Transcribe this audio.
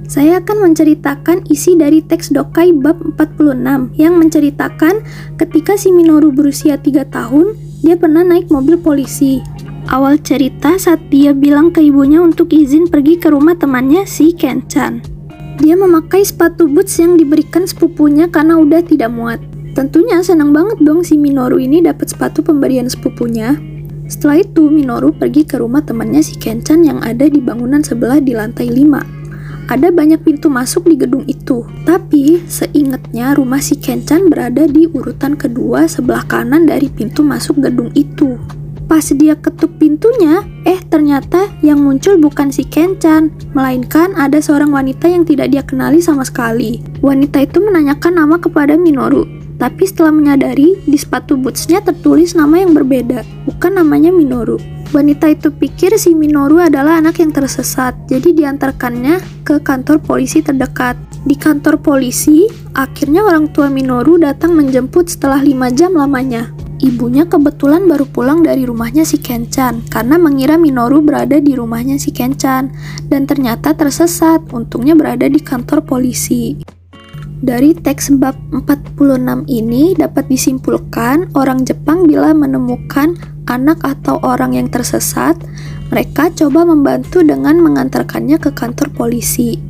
Saya akan menceritakan isi dari teks Dokai bab 46 yang menceritakan ketika si Minoru berusia 3 tahun, dia pernah naik mobil polisi. Awal cerita saat dia bilang ke ibunya untuk izin pergi ke rumah temannya si Ken-chan. Dia memakai sepatu boots yang diberikan sepupunya karena udah tidak muat. Tentunya senang banget dong si Minoru ini dapat sepatu pemberian sepupunya. Setelah itu Minoru pergi ke rumah temannya si Ken-chan yang ada di bangunan sebelah di lantai 5. Ada banyak pintu masuk di gedung itu, tapi seingatnya rumah si Ken-chan berada di urutan kedua sebelah kanan dari pintu masuk gedung itu. Pas dia ketuk pintunya, ternyata yang muncul bukan si Ken-chan, melainkan ada seorang wanita yang tidak dia kenali sama sekali. Wanita itu menanyakan nama kepada Minoru, tapi setelah menyadari di sepatu bootsnya tertulis nama yang berbeda, bukan namanya Minoru. Wanita itu pikir si Minoru adalah anak yang tersesat, jadi diantarkannya ke kantor polisi terdekat. Di kantor polisi, akhirnya orang tua Minoru datang menjemput setelah 5 jam lamanya. Ibunya kebetulan baru pulang dari rumahnya si Ken-chan karena mengira Minoru berada di rumahnya si Ken-chan dan ternyata tersesat, untungnya berada di kantor polisi. Dari teks bab 46 ini dapat disimpulkan orang Jepang bila menemukan anak atau orang yang tersesat, mereka coba membantu dengan mengantarkannya ke kantor polisi.